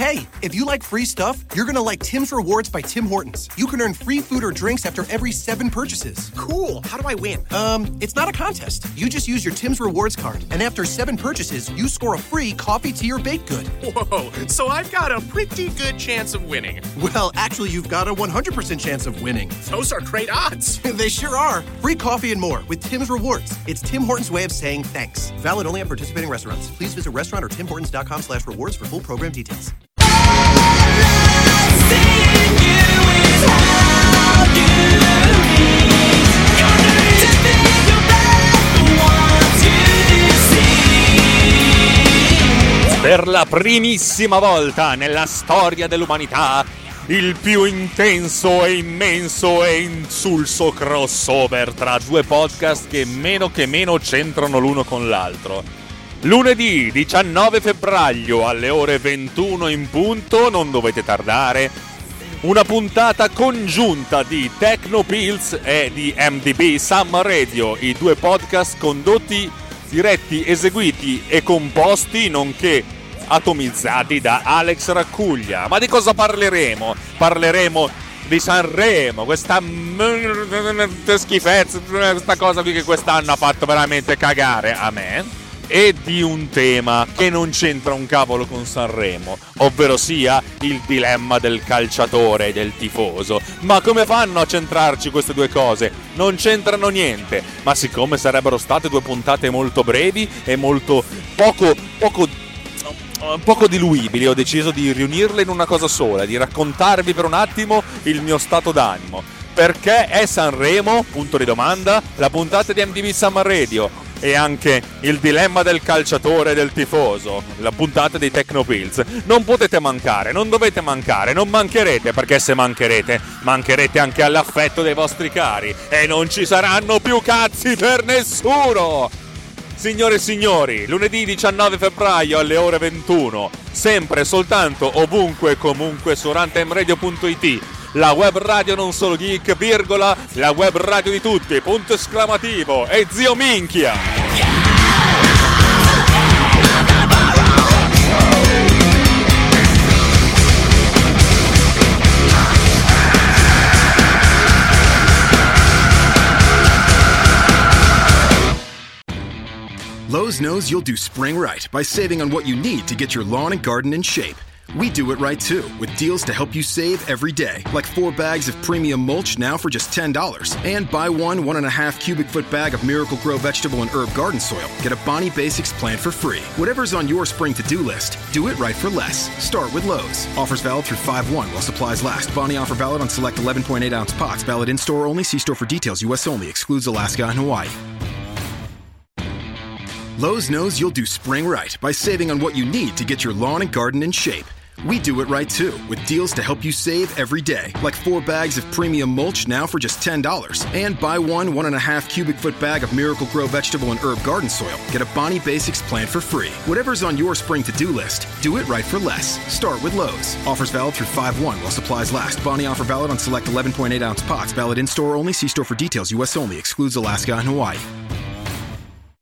Hey, if you like free stuff, you're gonna like Tim's Rewards by Tim Hortons. You can earn free food or drinks after every 7 purchases. Cool. How do I win? It's not a contest. You just use your Tim's Rewards card, and after 7 purchases, you score a free coffee, tea, or baked good. Whoa, so I've got a pretty good chance of winning. Well, actually, you've got a 100% chance of winning. Those are great odds. They sure are. Free coffee and more with Tim's Rewards. It's Tim Hortons' way of saying thanks. Valid only at participating restaurants. Please visit restaurant or timhortons.com/rewards for full program details. Per la primissima volta nella storia dell'umanità, il più intenso e immenso e insulso crossover tra 2 podcast che meno c'entrano l'uno con l'altro. Lunedì 19 febbraio alle ore 21 in punto, non dovete tardare, una puntata congiunta di Tecnopills e di MDB Summer Radio, i 2 podcast condotti, diretti, eseguiti e composti, nonché atomizzati da Alex Raccuglia. Ma di cosa parleremo? Parleremo di Sanremo, questa schifezza, questa cosa qui che quest'anno ha fatto veramente cagare a me, e di un tema che non c'entra un cavolo con Sanremo, ovvero sia il dilemma del calciatore e del tifoso. Ma come fanno a centrarci queste 2 cose? Non c'entrano niente, ma siccome sarebbero state 2 puntate molto brevi e molto poco diluibili, ho deciso di riunirle in una cosa sola, di raccontarvi per un attimo il mio stato d'animo. Perché è Sanremo? Punto di domanda. La puntata di MDB Summer Radio e anche il dilemma del calciatore e del tifoso, la puntata dei Tecnopills. Non potete mancare, non dovete mancare, non mancherete, perché se mancherete anche all'affetto dei vostri cari e non ci saranno più cazzi per nessuno. Signore e signori, lunedì 19 febbraio alle ore 21, sempre soltanto ovunque e comunque su runtimeradio.it, la web radio non solo geek, virgola, la web radio di tutti, punto esclamativo, e zio minchia! Lowe's knows you'll do spring right by saving on what you need to get your lawn and garden in shape. We do it right too, with deals to help you save every day, like 4 bags of premium mulch now for just $10. And buy 1.5 cubic foot bag of Miracle-Gro vegetable and herb garden soil. Get a Bonnie Basics plan for free. Whatever's on your spring to-do list, do it right for less. Start with Lowe's. Offers valid through 5/1 while supplies last. Bonnie offer valid on select 11.8-ounce pots. Valid in-store only. See store for details. U.S. only. Excludes Alaska and Hawaii. Lowe's knows you'll do spring right by saving on what you need to get your lawn and garden in shape. We do it right too, with deals to help you save every day, like 4 bags of premium mulch now for just $10. And buy 1.5 cubic foot bag of Miracle-Gro vegetable and herb garden soil. Get a Bonnie Basics plan for free. Whatever's on your spring to-do list, do it right for less. Start with Lowe's. Offers valid through 5/1 while supplies last. Bonnie offer valid on select 11.8-ounce pots. Valid in-store only. See store for details. U.S. only. Excludes Alaska and Hawaii.